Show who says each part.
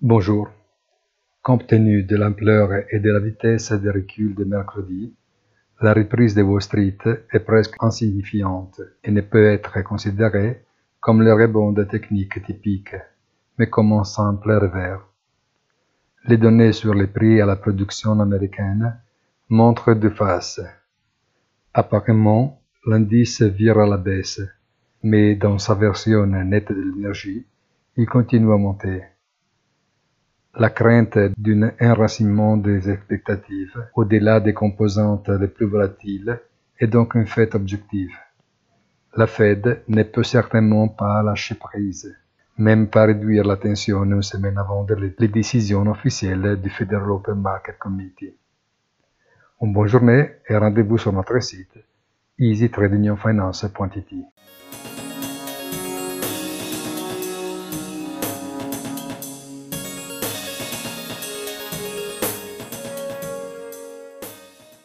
Speaker 1: Bonjour. Compte tenu de l'ampleur et de la vitesse des reculs de mercredi, la reprise de Wall Street est presque insignifiante et ne peut être considérée comme le rebond technique typique, mais comme un simple revers. Les données sur les prix à la production américaine montrent deux faces. Apparemment, l'indice vire à la baisse, mais dans sa version nette de l'énergie, il continue à monter. La crainte d'un enracinement des expectatives au-delà des composantes les plus volatiles est donc un fait objectif. La Fed ne peut certainement pas lâcher prise, même pas réduire la tension une semaine avant les décisions officielles du Federal Open Market Committee. Une bonne journée et rendez-vous sur notre site easytradingfinance.it.